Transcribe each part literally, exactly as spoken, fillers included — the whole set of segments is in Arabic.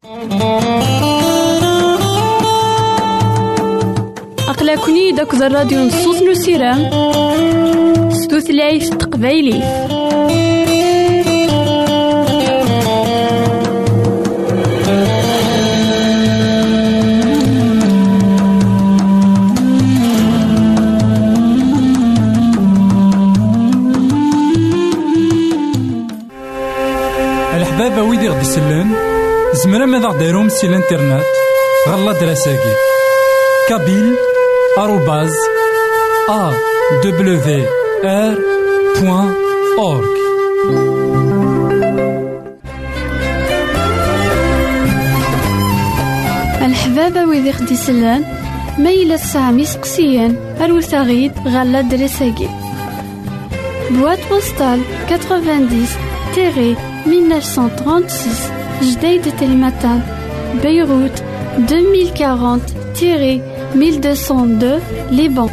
أقلكني داك الراديو نصوص نسيرام ستوثلايف تقبايلي. الحبابة ويدي غدي يسلن زمرا ماذا غديرهم سي الانترنت غالا دراساكي كابيل آروباز أ دبليو آر بوان أورك. الحبابة ويدي غدي يسلن ميلا سامي سقسيان أروساغيد غالا دراساكي بواد بوستال تسعين mille neuf cent trente-six Jdeï de Telmatan Beyrouth deux mille quarante mille deux cent deux Liban.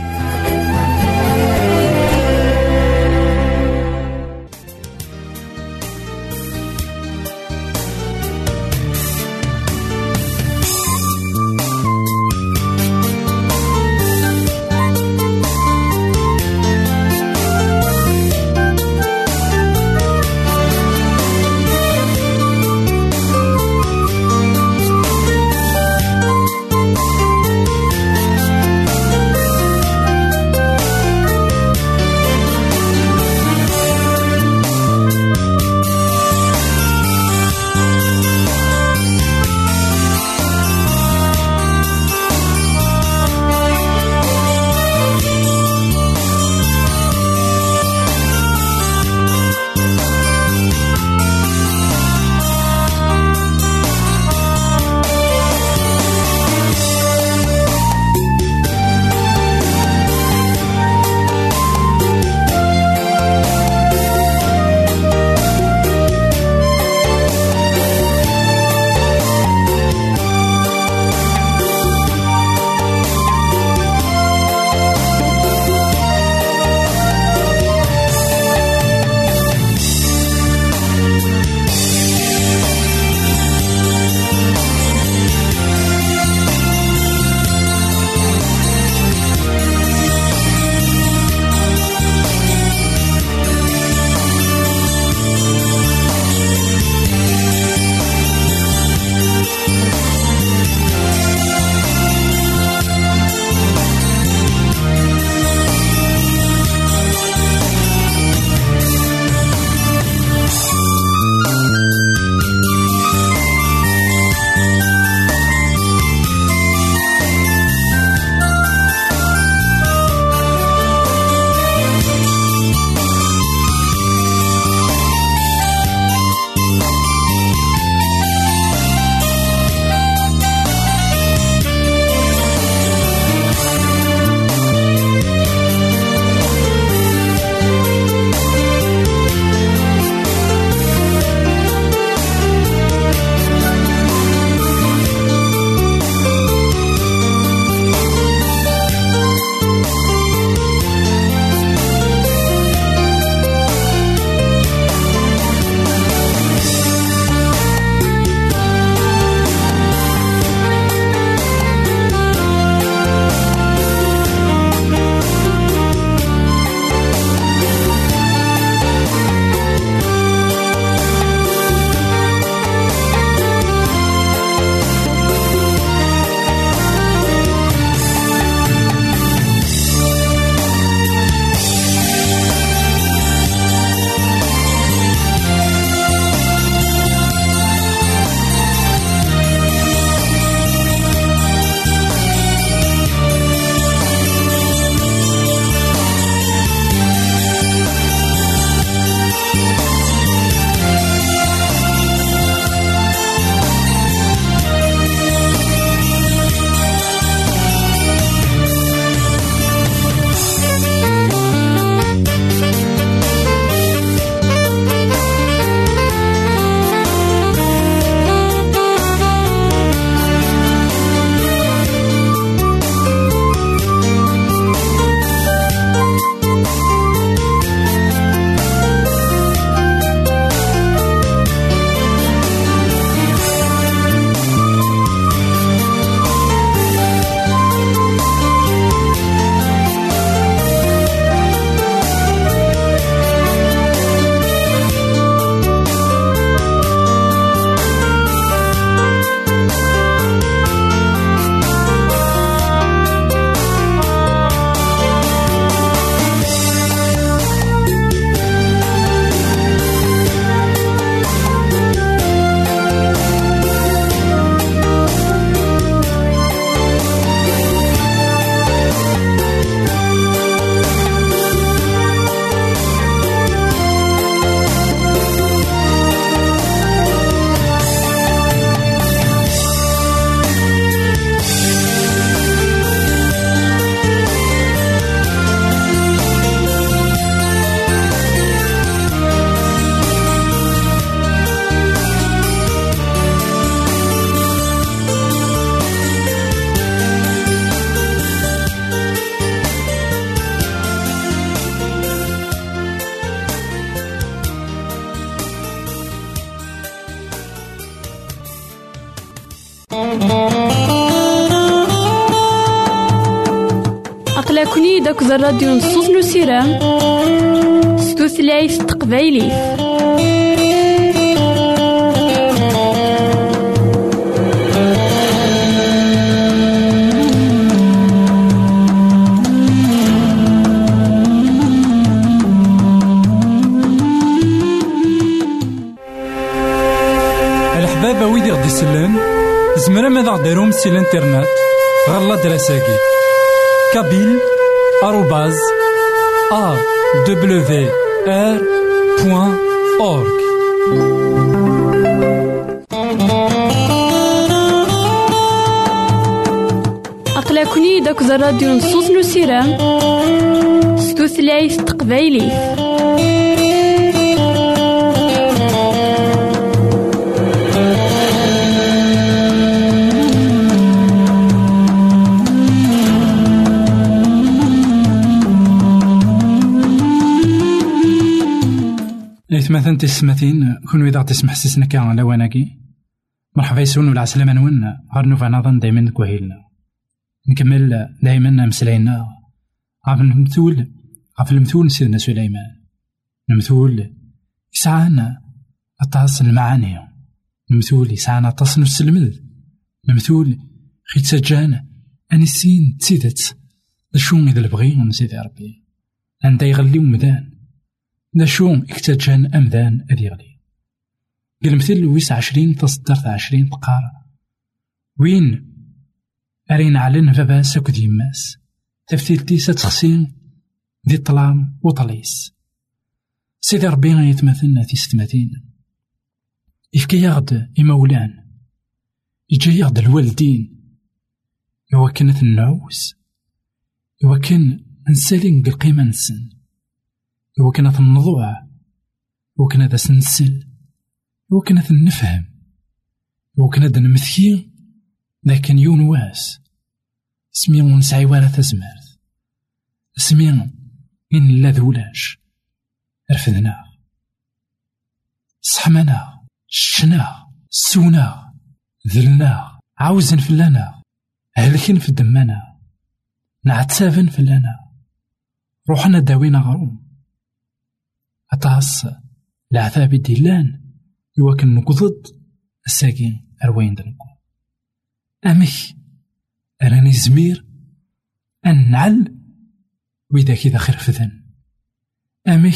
أقلكني داك الراديو نصوص نسيرام ستوثلايف تقبايلي. الحبابة ويدي غدي يسلم زمرا ماذا غديرهم سي الانترنت غالا دراساكي كابيل آروباز أ دبليو آر بوان أورك. أقلكني داك الراديو نصوص نسيرام ستوثلايف تقبايلي. مثلا تسمتين كون إذا تسمح سسنا كان على وناكي مرحبا يسون ولا عسلامة نون غير نوفا نظن دايما كوهيلنا نكمل دايما مسلاينا عف المثول عف المثول سيدنا سليمان. المثول يسعانا أطاس المعاني، المثول يسعانا أطاس نفس المذ، المثول خيت سجانا أنسين تسيدت لشون إذا البغي سيدي ربي عندها يغلي ومدان نشو اكتجان أمذان أذي غلي. المثل ويس عشرين تصدرت عشرين تقار وين أرين علن فبا ساكو دي ماس تفتيلتي ستخسين ذي طلام وطليس. سيدي ربي يتمثلنا في ستماتين يفكي يغد إمولان يجي يغد الوالدين يوكنت النعوس يوكن نسالين القيمة نسن يوكنت النضوع يوكنت سنسل يوكنت النفهم يوكنت نمثي لكن يون واس سمي ونسعي ولا تزمرت سمي إن لا ذولاش رفدنا صحمنا شنا سونا ذلنا عاوزن فلانا هلكين في دمنا نعتسافن فلانا روحنا داوينا غروم أطاس العذاب ديلان يوكن نقضد الساقين أروين دنكو أمك أراني زمير أن نعل وإذا كذا خير فذن أمك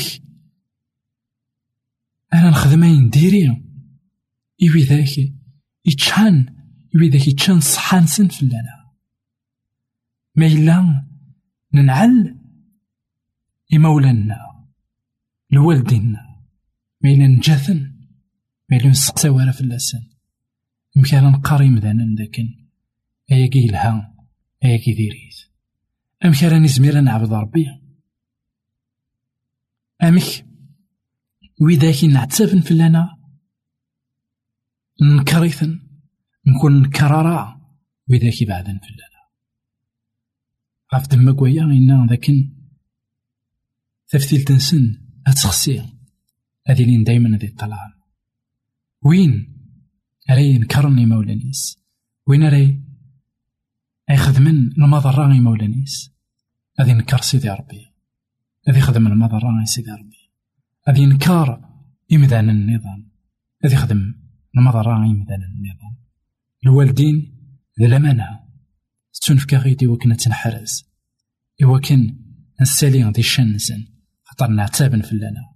أنا نخدمين ديري إيوي ذاك يتشان إيوي ذاك يتشان صحان سن فلانا ما إلا ننعل إمولانا لوالدينا ما إلا نجاثن ما إلا نسقسا ولا في اللسان مكانا نقاري مذانا لكن أياكي الها أياكي ديريث أمكانا نزمير نعبد ربي أمك وإذاكي نعتسافن فلانا نكريثن نكون نكرارا وإذاكي بعدن فلانا عف دمك ويا إنا لكن تفتيل تنسن أتخسي هذي لين دايما هذي الطلعان وين أري نكرني مولانيس وين أري أيخذ من المضراني مولانيس هذي نكر سيدي ربي هذي خدم المضراني سيدي ربي هذي نكار يمدان النظام هذي خدم المضراني يمدان النظام الوالدين ذي الأمانة تنفك غيدي وكنا تنحرز وكن نسالي غدي الشنسن خطر نعتابن فلانا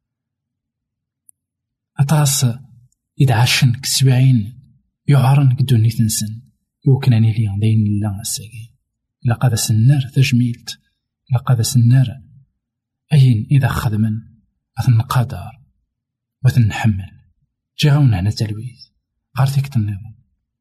أطاس إذا عاشن كسبعين يعارن كدوني تنسن يوكناني لي داين الله الساقي لقد سنار تجميلت لقد سنار أين إذا خدمن أثن قادر وثنحمل جاونا هنا تلويث غارتك النظام.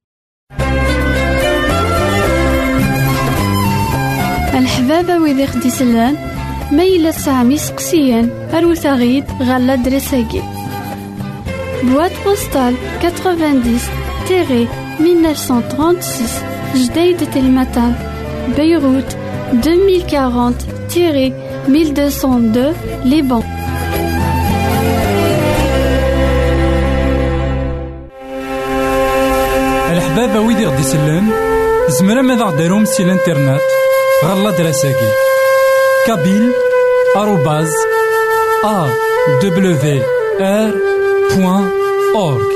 الحبابة ويدي خدي سلان ميلا سامي سقسيان أروثاغيد غالا دريساكي بواد بوستال تسعين مية وتسعمية وستة وثلاثين جديد تلمتان بيروت ألفين وأربعين ألف ومئتين واثنين لبنان. الحبابة ويدي غدي يسلم زمرا ماذا غديرهم سي الانترنت غالا دراساكي كابيل آروباز أ دبليو آر بوان أورك.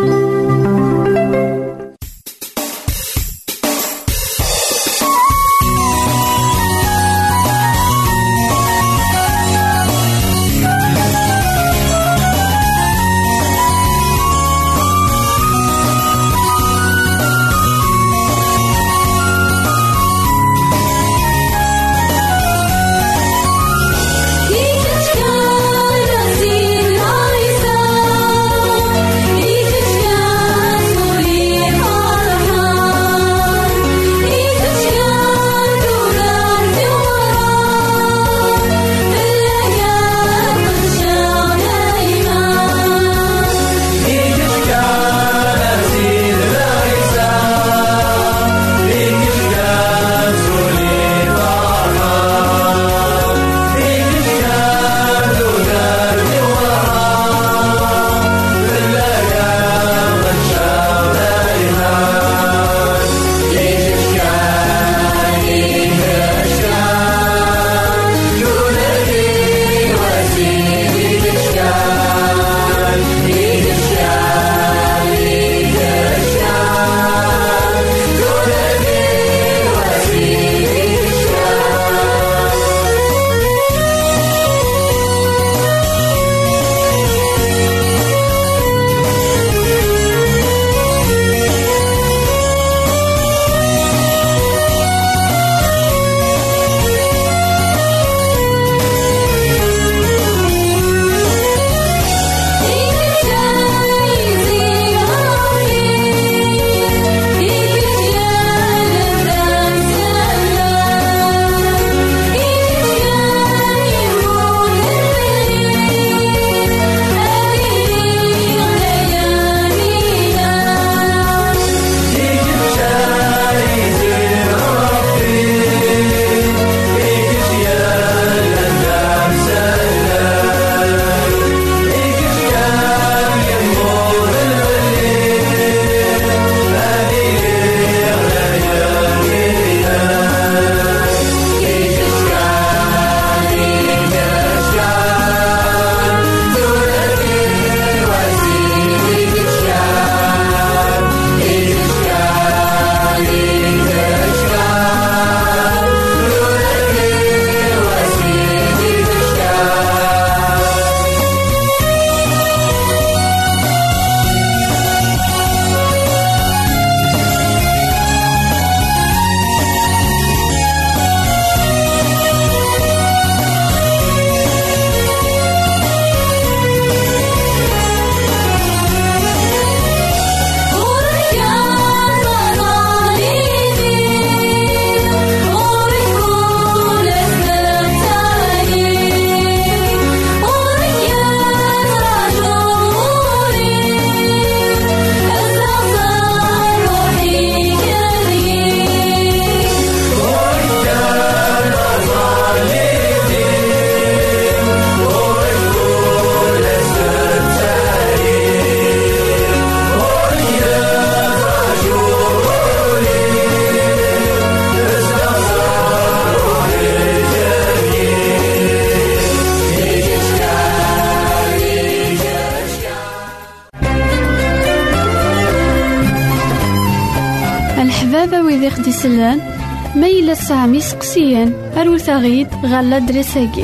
الحبابة ويدي خدي سلان ميلا سامي سقسيان أروثاغيد غالا دريساكي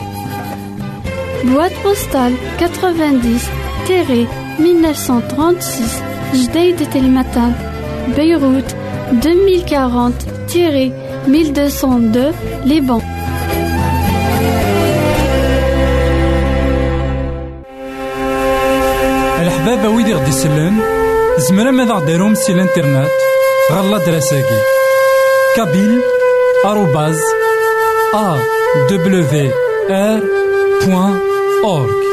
بواد بوستال تسعين مية وتسعمية وثلاثة وثلاثين جديدة المتان بيروت ألفين وأربعين ألف ومئتين واثنين لبنان. الحبابة ويدي غدي سلان زمرا ماذا غديرهم سي الانترنت غالا دراساكي كابيل آروباز أ دبليو آر بوان أورك.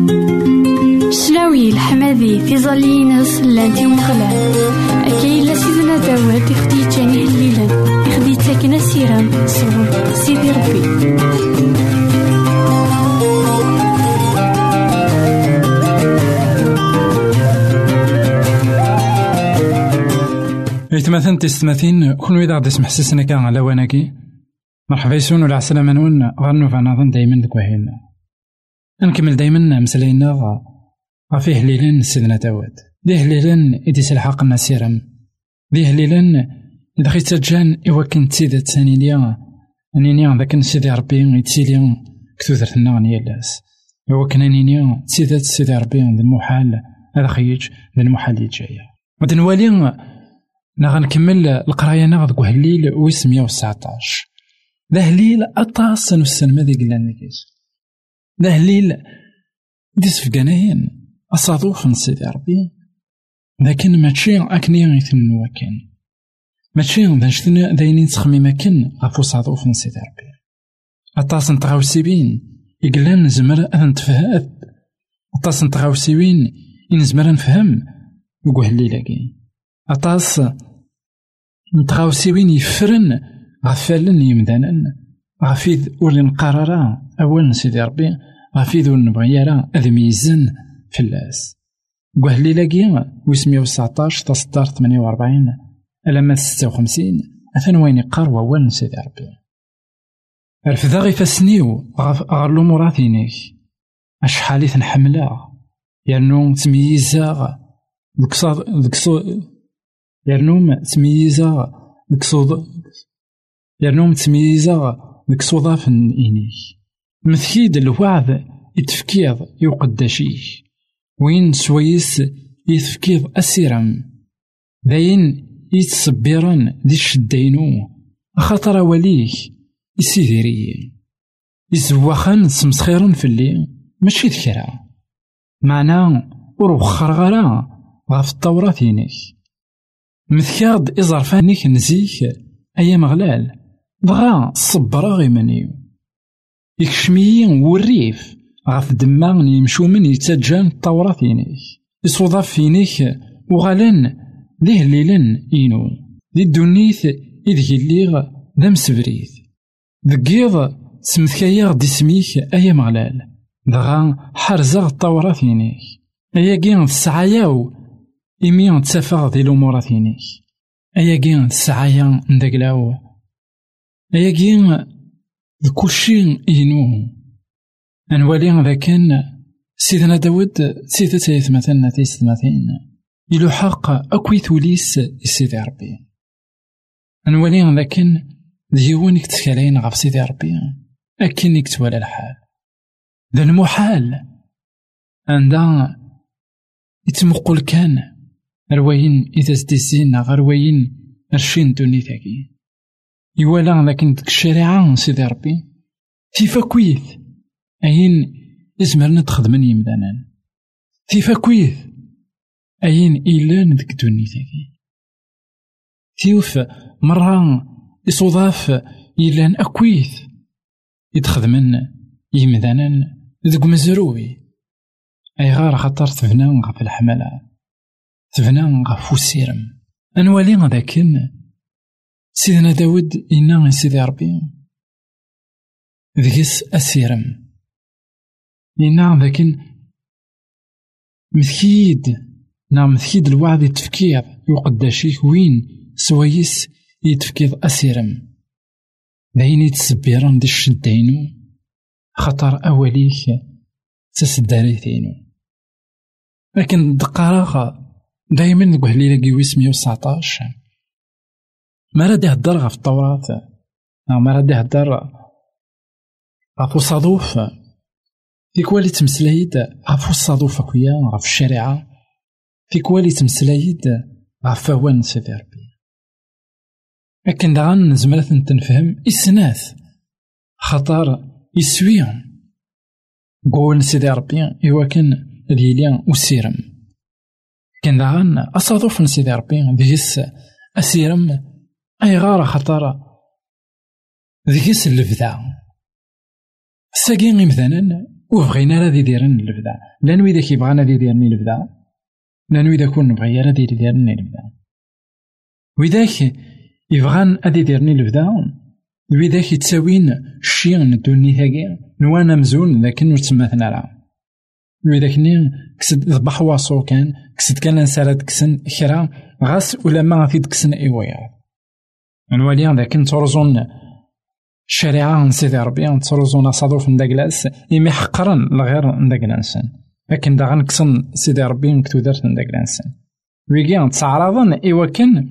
شلاوي الحمادي في ظلينا سلانتي ومخلال أكيد لسيد تخدي جاني الليلة يخدي تاكنا سيرام صور سيدي ربي. إيتماثن تستماثين كون ويدا غادي يسمح سيسنا كان على واناكي مرحبا يسون ولا عسلامة نون غنو فنظن دايما دكوهينا نكمل دايما مسلاينا غفيه هليلان سيدنا داود دي هليلان إدي سلحاق النسيرم دي هليلان إذا خيت تجان إوا كنت سيدة تانيليا أنينيا ذاك نسيدي ربي يتسيليا كثوثر النغنية لاس إوا كان أنينيا سيدة سيدي ربي ذا المحال هذا خيج ذا المحال يجايا ودنوالي نغنكمل القراية ناغ ذكو هليل ويس مية وتسعطاش ذا هليل أطاس نوسن ماذا قلان نكيس ذا هليل ديس فقاناين أصادوف نسيدي ربي لكن ماشي أكني غيثنو وكان ماشي ذا داينين تخمي مكان غفو صادوف نسيدي ربي أطاس نتغاوسيبين يقلان نزمر أذن تفهاد أطاس نتغاوسيبين ينزمر نفهم يقو هليل أطاس نتغاوسيوين يفرن غفالن يمدانن غفيذ ولي نقرارا أول نسيدي ربي غفيذ ولي نبغيارا أذ ميزن فلاس قوهلي لاقي ويسمية وتسعطاش تصدار ثمانية وأربعين ألما ستة وخمسين أثن وين يقار وأول نسيدي ربي الفذا غي فاسنيو غارلو مراثينيك أشحالي تنحملا يانو تمييزا دكصاد دكصو يرنوم تمييزا دكصود يرنوم تمييزا دكصوضا في إنيك مثكيد الوعد يتفكيض يقدشيك وين سويس يتفكيض أسيرم داين يتصبيرن دي الشدينو خاطر وليك يسيديري يزوخن سمسخيرن في اللي ماشي ذكرى معنا وروخر غرا غاف الطورة فينيك مثكاد إزرفانيك نزيك أيا مغلال بغا صبرا غيمانيو يكشميين والريف غاف دمان يمشو من يتجان الطورة فينيك يصوضا فينيك وغالن ليه ليلن إينو دي الدنيث إذ الليغ دام سبريث ذكيض سمثكايا دي سميك أيا مغلال دغا حرزا الطورة فينيك أيا كين السعاياو إمي تسافر ذي الأمور ثينيك أيا كين السعايا ندقلاو أيا كين كلشي إينو أنوالي ذا كان سيدنا داود سيدة تايث مثلا تيست مثلا إلو حق أكوي ثوليس سيدي ربي أنوالي ذا كان ديوانك تكالين غف سيدي ربي أكنك توالى الحال ذا المحال عندها يتمقل كان رواين إذا ستيسين غرواين رشين دوني ثاكي يوالا لكن ديك الشريعة سيدي ربي تيفا كويث أين إزمرنا تخدمن يمدانا تيفا كويث أين إيلان ديك دوني ثاكي تيوف مرة يصوضاف إيلان أكويث يتخدمن يمدانا ديك مزروي أي غار خطر تفنان غف الحملة تفنان غف السيرم أنوالي غداكن سيدنا داود إنا سيدي ربي ذكس أسيرم إنا ذاكن مثكيد نعم مثكيد الوعد يتفكير يقداشيك وين سويس يتفكير أسيرم داين يتسبيران دي الشدينو خطر أوليك تسداريثينو لكن دقارا دايما نقول لي لاقي ويس مية وتسعطاش ما راه يهدر غف التوراة ما راه يهدر غف الصادوف في كوالي تمسلايد غف الصادوف أكويا غف الشريعة في كوالي تمسلايد غف فوان سيدي ربي لكن دغان زمرات نتنفهم إسناث خطر يسويهم قول سيدي ربي إوا كان دياليا وسيرم كان دغان أصادوف سيدي ربي ديس أسيرم أي غارة خطر ديس اللفدا ساقين مثلا وبغينا راه ديرن اللفدا لانو إذا كيبغانا دي ديرني اللفدا لانو إذا كون نبغي راه دير ديرني اللفدا وذاك يبغان أدي ديرني البدا وذاك يتساوين الشيء ندوني ثاقي نوانا مزون لكن نتسمثنا راه وذاك نين كسد ضبح واصو كان كسد كان نسالد كسن كرا غاس ولا ما في دكسن ايويا نوالي ذاك نترزون الشريعة نسيدي ربي نترزون صادوف نداكلاس يمي حقرا لغير نداكلانسن لكن دا غنكسن سيدي ربي نكتو دارت نداكلانسن ويجي نتعرضن ايوا كان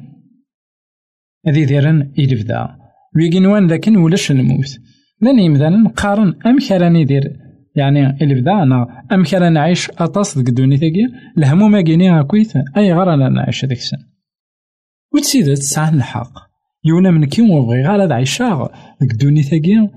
هذي ديرن يلبدا ويجي نوان لكن ولاش الموت لاني يمدانا نقارن امك راني دير يعني البدا انا امك راني نعيش اطاس ديك الدنيا الهموم كاينين كويت اي غير انا نعيش هذيك السن وتسيدات تسعى الحق يونا من كي وبغي غير هذا عيشاغ ديك الدنيا ثاقي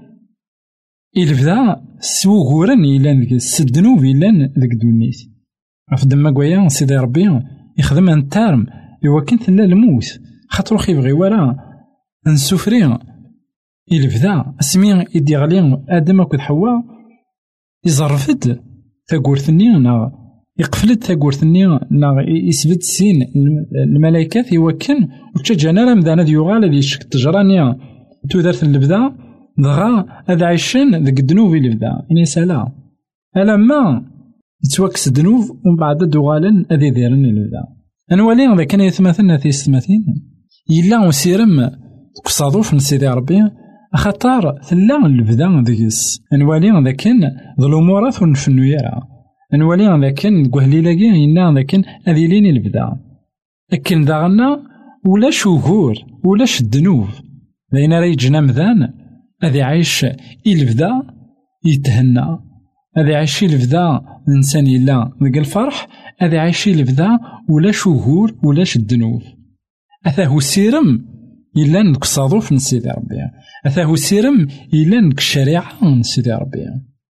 البدا سو غورن يلان ديك السدنوب يلان ديك الدنيا افدم كوايا سيدي ربي يخدم انترم ايوا كنت لا الموت خاطرو خيبغي ورا نسوفري البدا اسمي يدي غلي ادم اكد حواء يزرفد تاكورثني نا يقفلت تاكورثني نا يثبت سين الملائكات يوكن وتجانا راه مدانا ديوغال اللي شك تجرانيا تو دارت البدا دغا هذا عيشان ديك الذنوب اللي بدا اني سالا الا ما يتوكس الذنوب ومن بعد دوغالن هذي دايرين البدا انوالي هذا كان يتمثلنا في ستماثين يلا وسيرم قصادوف نسيدي ربي خطار ثلا البدا ديس انوالي هذا كان ظلمورات ونفنو يرا انوالي هذا كان كوهليلاكي ينا هذا كان هذي لين البدا لكن داغنا ولا شهور ولا الذنوب لين راه يجينا مذان هذي عايش البدا يتهنى هذي عايش البدا الانسان يلا ديك الفرح هذي عايش البدا ولا شهور ولا الذنوب هذا هو السيرم إلا نك صادوف نسيدي ربي هذا هو السيرم إلا نك الشريعة نسيدي ربي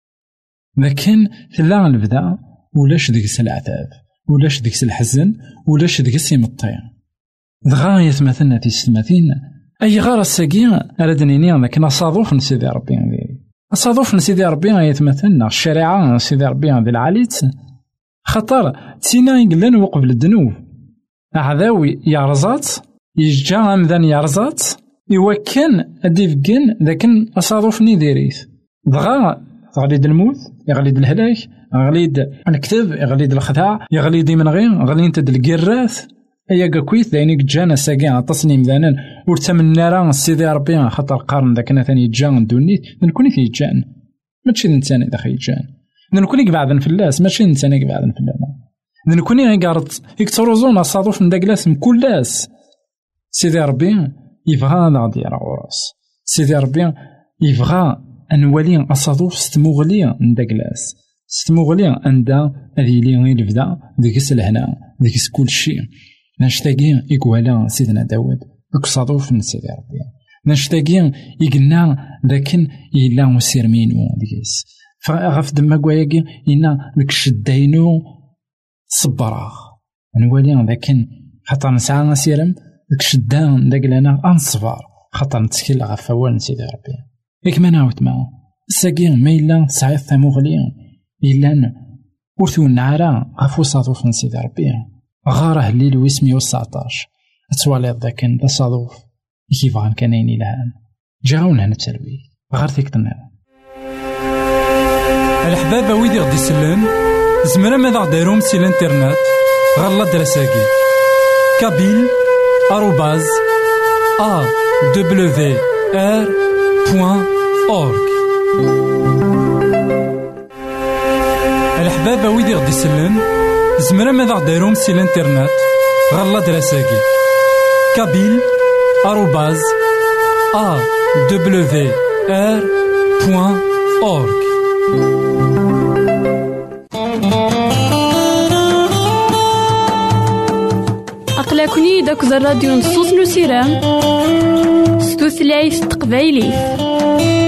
لكن لا البدا ولاش ديك العذاب ولاش ديك الحزن ولاش ديك السيمطي دغا يتمثلنا في ستماثين أي غار الساقين أردنيني لكن صادوف نسيدي ربي صادوف نسيدي ربي يتمثلنا الشريعة نسيدي ربي ذي العاليت خطر تينا يقلن وقبل الذنوب عذاوي يارزات يجا عمدان يارزات يوكن أديفكن لكن أصادوفني ديريث دغا غليد الموت يغليد الهلاك يغليد الكتب يغليد الخداع يغليد من غير غليد الكراث أيا كويت دايني جانا ساقين تصنيم ذانن ورتمنى راه سيدي ربي خاطر قارن ذاك انا ثاني جان دونيت نكوني في جان ماشي انسان اذا خي جان نكوني بعدا في اللاس ماشي انسان بعدا في اللاس نكوني غير قارت يكتروزونا صادوف نداك لاس مكل لاس سيدي ربي يبغى نغدي راه وراس سيدي ربي يبغى انوالي اصادوف ستموغلي نداك لاس ستموغلي عندها هذه لي غير بدا ديك الهنا ديك كل شيء نشتاقين يقوالا سيدنا داود دوك صادوف من سيدي ربي نشتاقين يقلنا لكن إلا مسيرمينو ديكيس فغف دما قواياكي إنا ديك الشداينو صبراغ نوالي لكن خاطر نسعى نسيرم ديك الشدان داك لنا أنصفار خاطر نتكل غف فوال سيدي ربي ياك ما نعاود معاه الساقين ما إلا سعيد ثموغليا إلا ورثو النعارة غفو صادوف من سيدي ربي غاره الليل ويسمي وسعطاش اتوالي ذاك دا صادوف كيف غان كانيني لهان جاونا نتسلوي غار فيك تنام الحبابة ويدي غدي سلان زمرا ماذا دايروم سي الانترنت غالا دراساكي كابيل آروباز ا دبليو ار بوان اورك الحبابة ويدي غدي سلان زمرا ماذا دايروم سي الانترنت غالا دراساكي كابيل آروباز ا دبليو ار بوان اورك أقلكني داك الراديو نصوص نسيران ستوثلايف تقبايلي